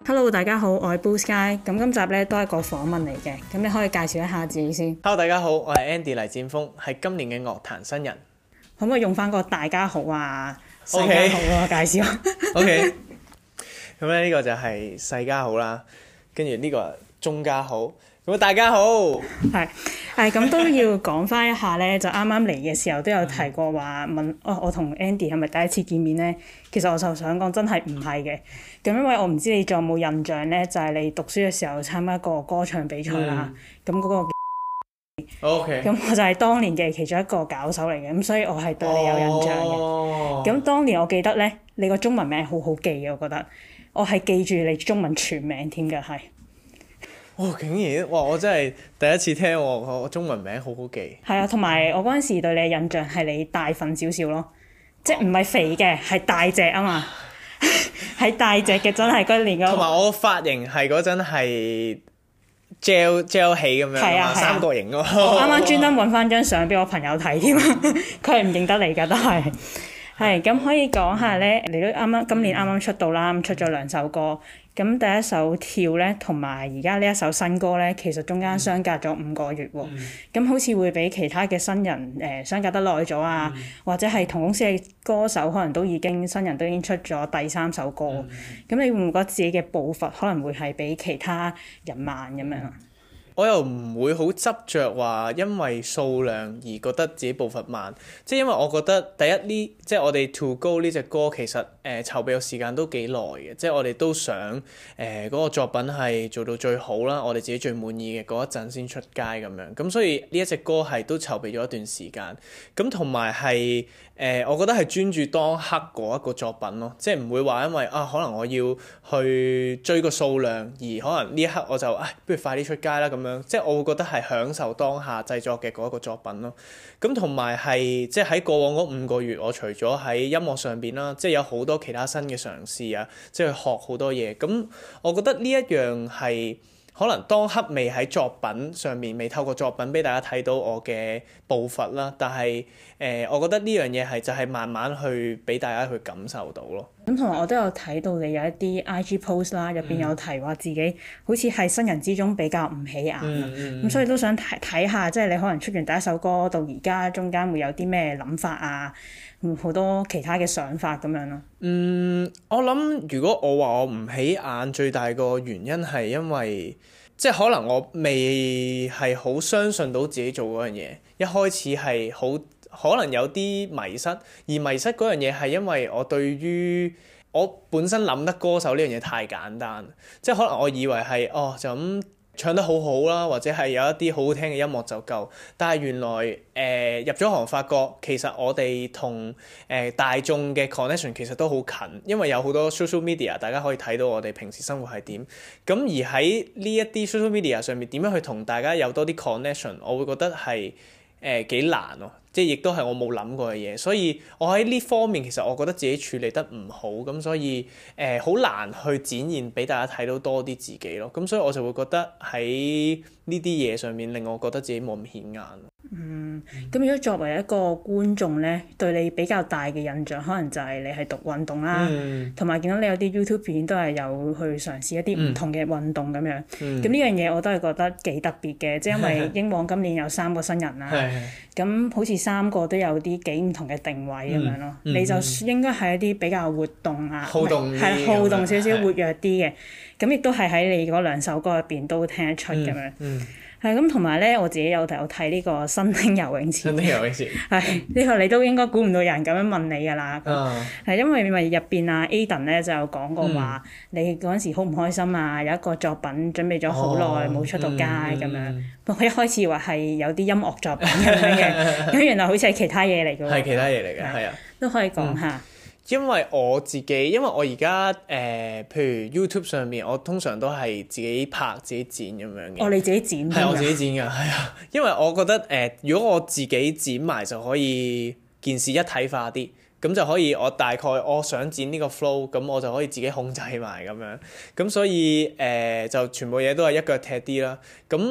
Hello，大家好，我係 Blue Sky。咁今集咧都係個訪問嚟嘅，咁你可以介紹一下自己先。 Hello，大家好，我係 Andy 黎戰鋒，係今年嘅樂壇新人。 可唔可以用翻個大家好啊、世家好啊介紹 ？OK，咁咧呢個就係世家好啦，跟住呢個中家好，咁大家好。 係咁都要講翻一下咧，就啱啱嚟嘅時候都有提過話問我同 Andy 係咪第一次見面咧？其實我就想講真係唔係嘅。咁因為我唔知你仲有冇印象咧，就係你讀書嘅時候參加過歌唱比賽啦。咁嗰個 OK， 咁我就係當年嘅其中一個搞手嚟嘅，咁所以我係對你有印象嘅。咁當年我記得咧，你個中文名好好記嘅，我覺得我係記住你中文全名添嘅，係。 竟然哇！我真係第一次聽我中文名好好記。 係啊，同埋我嗰陣時對你嘅印象係你大份少少咯，即係唔係肥嘅，係大隻啊嘛，係大隻嘅，真係嗰年嗰個。 同埋我個髮型係嗰陣係 gel 起咁樣，三角形咯。 我啱啱專登揾翻張相俾我朋友睇添，佢係唔認得你㗎，都係。係咁可以講下咧，你都今年啱啱出道啦，咁出咗2首歌。咁第一首跳咧，同埋而家呢一首新歌咧，其實中間相隔咗5個月喎。咁好似會比其他嘅新人相隔得耐咗啊，或者係同公司嘅歌手可能新人都已經出咗第3首歌。咁你會唔會覺得自己嘅步伐可能會係比其他人慢咁樣啊？ 我又唔會好執着話，因為數量而覺得自己步伐慢，即係因為我覺得第一呢，即係我哋 To Go 呢隻歌其實籌備嘅時間都幾耐嘅，即係我哋都想嗰個作品係做到最好啦，我哋自己最滿意嘅嗰一陣先出街咁樣，咁所以呢一隻歌係都籌備咗一段時間，咁同埋係我覺得係專注當刻嗰一個作品咯，即係唔會話因為可能我要去追個數量，而可能呢一刻我就不如快啲出街啦咁樣，即係我會覺得係享受當下製作嘅嗰一個作品咯。咁同埋係即係喺過往嗰5個月，我除咗喺音樂上邊啦，即係有好多其他新嘅嘗試啊，即係去學好多嘢。咁我覺得呢一樣係可能當刻未喺作品上面，未透過作品俾大家睇到我嘅步伐啦，但係我覺得呢樣嘢係就係慢慢去俾大家去感受到咯。 咁同埋我都有睇到你有一啲 IG post 啦，入邊有提話自己好似係新人之中比較唔起眼，咁所以都想睇下，即係你可能出完第一首歌到而家中間會有啲咩諗法啊，好多其他嘅想法咁樣咯。 我諗如果我話我唔起眼，最大個原因係因為即係可能我未係好相信到自己做嗰樣嘢，一開始係好可能有啲迷失，而迷失嗰樣嘢係因為我對於我本身諗得歌手呢樣嘢太簡單，即係可能我以為係就咁唱得好好啦，或者係有一啲好好聽嘅音樂就夠，但係原來入咗行發覺其實我哋同大眾嘅 connection 其實都好近，因為有好多 social media 大家可以睇到我哋平時生活係點，咁而喺呢一啲 social media 上面點樣去同大家有多啲 connection， 我會覺得係幾難咯，即係亦都係我冇諗過嘅嘢，所以我喺呢方面其實我覺得自己處理得唔好，咁所以好難去展現俾大家睇到多啲自己咯，咁所以我就會覺得喺呢啲嘢上面令我覺得自己冇咁顯眼。 咁如果作為一個觀眾咧，對你比較大嘅印象，可能就係你係讀運動啦，同埋見到你有啲 YouTube 片都係有去嘗試一啲唔同嘅運動咁樣。咁呢樣嘢我都係覺得幾特別嘅，即係因為英皇今年有3個新人啦，咁好似3個都有啲幾唔同嘅定位咁樣咯。你就應該係一啲比較活動啊，好動少少活躍啲嘅，咁亦都係喺你嗰2首歌入邊都聽得出咁樣。係咁，同埋咧，我自己有睇呢個新丁游泳池。新丁游泳池係呢個你都應該估唔到有人咁樣問你㗎啦。係因為咪入邊啊 Aden 咧就有講過話，你嗰陣時好唔開心啊，有一個作品準備咗好耐冇出到街咁樣。佢一開始話係有啲音樂作品咁樣嘅，咁原來好似係其他嘢嚟㗎喎。係其他嘢嚟嘅，係啊。都可以講下。 因為我而家譬如 YouTube 上面，我通常都係自己拍自己剪咁樣嘅。 你自己剪？係我自己剪㗎，係啊。因為我覺得如果我自己剪埋就可以件事一體化啲，咁就可以我大概我想剪呢個 flow，咁我就可以自己控制埋咁樣。咁所以就全部嘢都係一腳踢啲啦。咁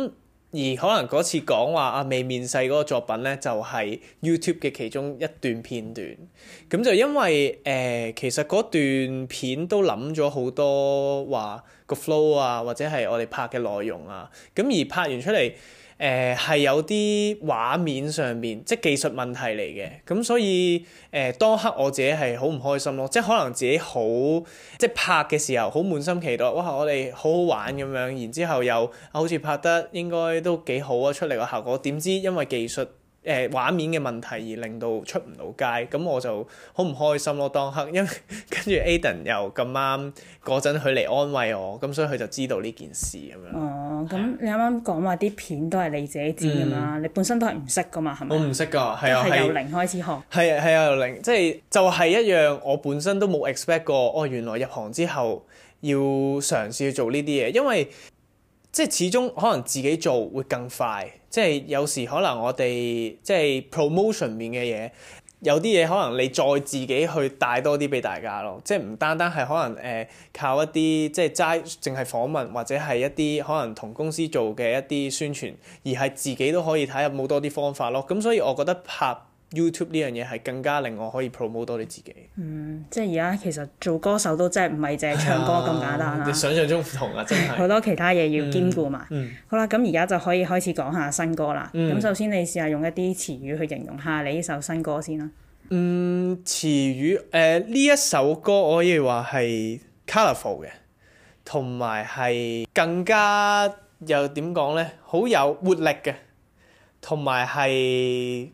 可能嗰次講話未面世嗰個作品咧，就係 YouTube 嘅其中一段片段。咁就因為其實嗰段片都諗咗好多話個 flow 啊，或者係我哋拍嘅內容啊。咁而拍完出嚟係有啲畫面上面即係技術問題嚟嘅。咁所以當刻我自己係好唔開心咯。即係可能自己好即係拍嘅時候好滿心期待，哇！我哋好好玩咁樣，然之後又好似拍得應該都幾好啊，出嚟個效果。點知因為技術畫面嘅問題而令到出唔到街，咁我就好唔開心咯。當刻因為跟住 Aden 又咁啱嗰陣佢嚟安慰我，咁所以佢就知道呢件事咁樣。 哦，咁你啱啱講話啲片都係你自己剪㗎嘛？你本身都係唔識㗎嘛？係咪？ 我唔識㗎，係啊， 係由零開始學。 係啊，由零，即係就係一樣我本身都冇 expect 過，原來入行之後要嘗試去做呢啲嘢，因為即係始終可能自己做會更快，即係有時可能我哋即係 promotion 面嘅嘢，有啲嘢可能你再自己去帶多啲俾大家咯，即係唔單單係可能靠一啲即係齋淨係訪問或者係一啲可能同公司做嘅一啲宣傳，而係自己都可以睇下冇多啲方法咯。咁所以我覺得拍 YouTube 呢樣嘢係更加令我可以 promote 多啲自己。 即係而家其實做歌手都真係唔係淨係唱歌咁簡單啦。 你想象中唔同啊，真係好多其他嘢要兼顧嘛。好啦，咁而家就可以開始講下新歌啦。咁首先你試下用一啲詞語去形容下你呢首新歌先啦。 詞語呢一首歌我可以話係 colourful 嘅，同埋係更加又點講咧，好有活力嘅，同埋係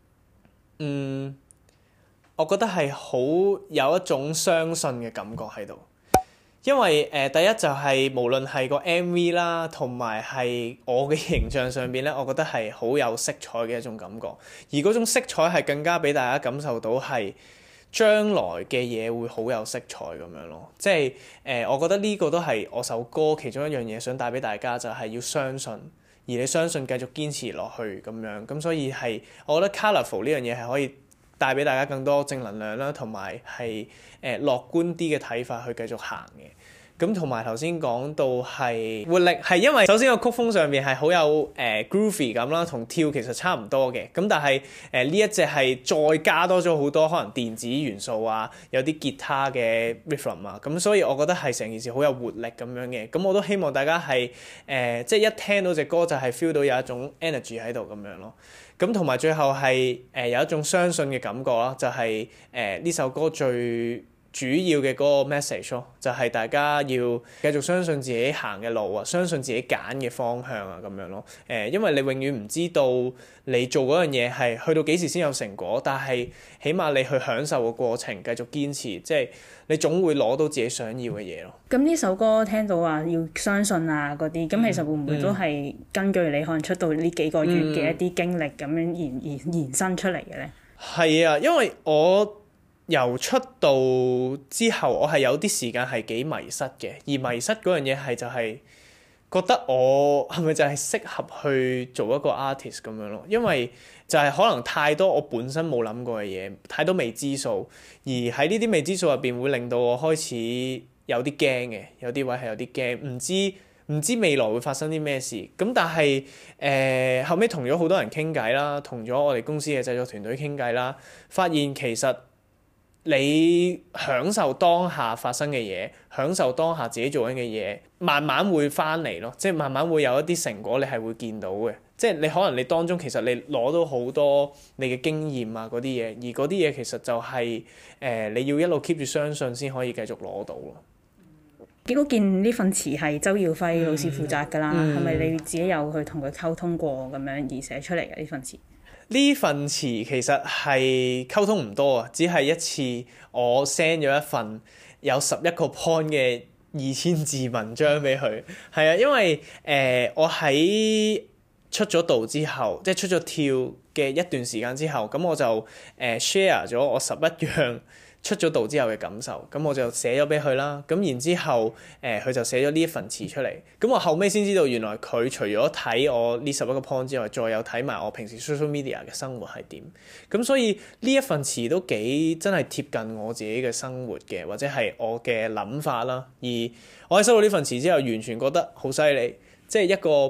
我覺得係好有一種相信嘅感覺喺度，因為第一就係無論係個 MV 啦，同埋係我嘅形象上邊咧，我覺得係好有色彩嘅一種感覺，而嗰種色彩係更加俾大家感受到係將來嘅嘢會好有色彩咁樣咯，即係我覺得呢個都係我首歌其中一樣嘢想帶俾大家，就係要相信，而你相信繼續堅持落去咁樣，咁所以係我覺得 colourful 呢樣嘢係可以帶俾大家更多正能量啦，同埋係樂觀啲嘅睇法去繼續行嘅。咁同埋頭先講到係活力，係因為首先個曲風上面係好有groovy 咁啦，同跳其實差唔多嘅。咁但係呢一隻係再加多咗好多可能電子元素啊，有啲吉他嘅 rhythm 啊，咁所以我覺得係成件事好有活力咁樣嘅。咁我都希望大家係即係一聽到隻歌就係 feel 到有一種 energy 喺度咁樣咯。咁同埋最後係有一種相信嘅感覺啦，就係呢首歌最主要嘅嗰個 message 咯，就係大家要繼續相信自己行嘅路啊，相信自己揀嘅方向啊咁樣咯。因為你永遠唔知道你做嗰樣嘢係去到幾時先有成果，但係起碼你去享受個過程，繼續堅持，即係你總會攞到自己想要嘅嘢咯。咁呢首歌聽到話要相信啊嗰啲，咁其實會唔會都係根據你可能出道呢幾個月嘅一啲經歷咁樣延伸出嚟嘅咧？ 係啊，因為我由出道之後，我係有啲時間係幾迷失嘅，而迷失嗰樣嘢係就係覺得我係咪就係適合去做一個 artist 咁樣咯？因為就係可能太多我本身冇諗過嘅嘢，太多未知數，而喺呢啲未知數入邊會令到我開始有啲驚嘅，有啲位係有啲驚，唔知未來會發生啲咩事。咁但係後尾同咗好多人傾偈啦，同咗我哋公司嘅製作團隊傾偈啦，發現其實你享受當下發生嘅嘢，享受當下自己做緊嘅嘢，慢慢會翻嚟咯。即係慢慢會有一啲成果，你係會見到嘅。即係你可能你當中其實你攞到好多你嘅經驗啊嗰啲嘢，而嗰啲嘢其實就係你要一路 keep 住相信先可以繼續攞到咯。 結果見呢份詞係周耀輝老師負責㗎啦，係咪你自己有去同佢溝通過咁樣而寫出嚟嘅呢份詞？ 呢份詞其實係溝通唔多啊，只係一次我 send 咗一份有11個 point 嘅2000字文章俾佢。係啊，因為我喺出咗道之後，即係出咗跳嘅一段時間之後，咁我就share 咗我11樣出咗道之後嘅感受，咁我就寫咗俾佢啦。咁然之後佢就寫咗呢一份詞出嚟。咁我後尾先知道原來佢除咗睇我呢11個 point 之外，再有睇埋我平時 social media 嘅生活係點。咁所以呢一份詞都幾真係貼近我自己嘅生活嘅，或者係我嘅諗法啦。而我喺收到呢份詞之後，完全覺得好犀利，即係一個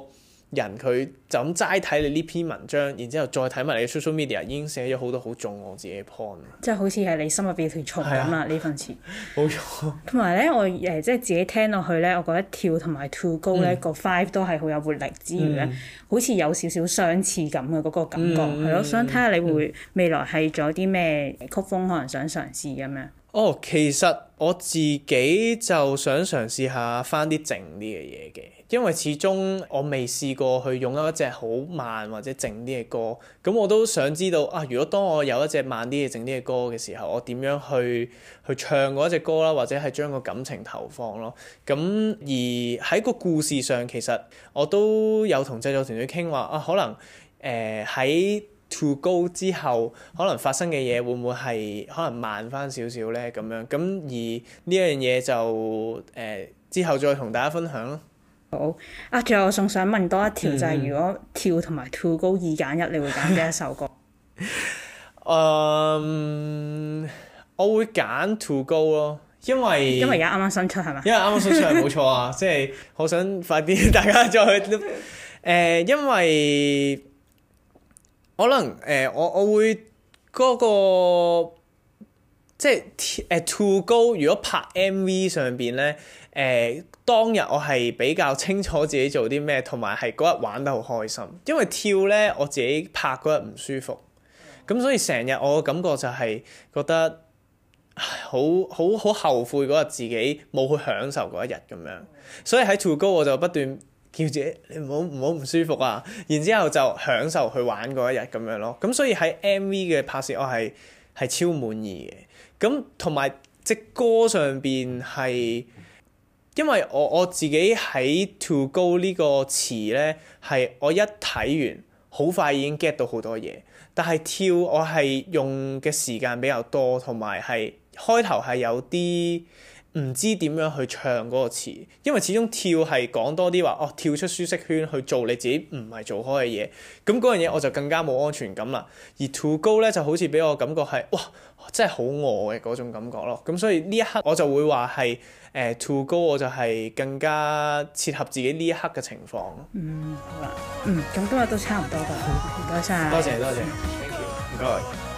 人佢就咁齋睇你呢篇文章，然之後再睇埋你嘅 social media 已經寫咗好多好中我自己嘅 point。即係好似係你心入邊條蟲咁啦，呢份詞。 冇錯。 同埋咧，我即係自己聽落去咧，我覺得跳同埋 To Go 咧個 vibe 都係好有活力之餘咧，好似有少少相似咁嘅嗰個感覺，係咯。想睇下你會未來係做啲咩曲風可能想嘗試咁樣。 其實我自己就想嘗試下翻啲靜啲嘅嘢嘅，因為始終我未試過去擁有一隻好慢或者靜啲嘅歌，咁我都想知道如果當我有一隻慢啲嘅靜啲嘅歌嘅時候，我點樣去唱嗰一隻歌啦，或者係將個感情投放咯。咁而喺個故事上，其實我都有同製作團隊傾話可能喺To Go 之後可能發生嘅嘢會唔會係可能慢翻少少咧咁樣，咁而呢樣嘢就之後再同大家分享咯。 好最後我仲想問多一條，就係如果跳同埋 To Go 2揀1，你會揀邊一首歌？ 我會揀 To Go 咯，因為而家啱啱新出係咪？ 因為啱啱新出係冇錯啊，即係好想快啲大家再去因為可能我會嗰個即係To Go 如果拍 MV 上邊咧當日我係比較清楚自己做啲咩，同埋係嗰日玩得好開心。因為跳咧我自己拍嗰日唔舒服，咁所以成日我嘅感覺就係覺得好後悔嗰日自己冇去享受嗰一日咁樣。所以喺 To Go 我就不斷叫自己你唔好唔舒服啊，然之後就享受去玩嗰一日咁樣咯。咁所以喺 MV 嘅拍攝我係超滿意嘅。咁同埋隻歌上邊係因為我自己喺 To Go 呢個詞咧係我一睇完好快已經 get 到好多嘢，但係跳我係用嘅時間比較多，同埋係開頭係有啲唔知點樣去唱嗰個詞，因為始終跳係講多啲話跳出舒適圈去做你自己唔係做開嘅嘢，咁嗰樣嘢我就更加冇安全感啦。而 To Go 咧就好似俾我感覺係真係好我嘅嗰種感覺咯。咁所以呢一刻我就會話係To Go 我就係更加切合自己呢一刻嘅情況。 好啦，咁今日都差唔多㗎，唔該晒。 多謝，Thank you，唔該。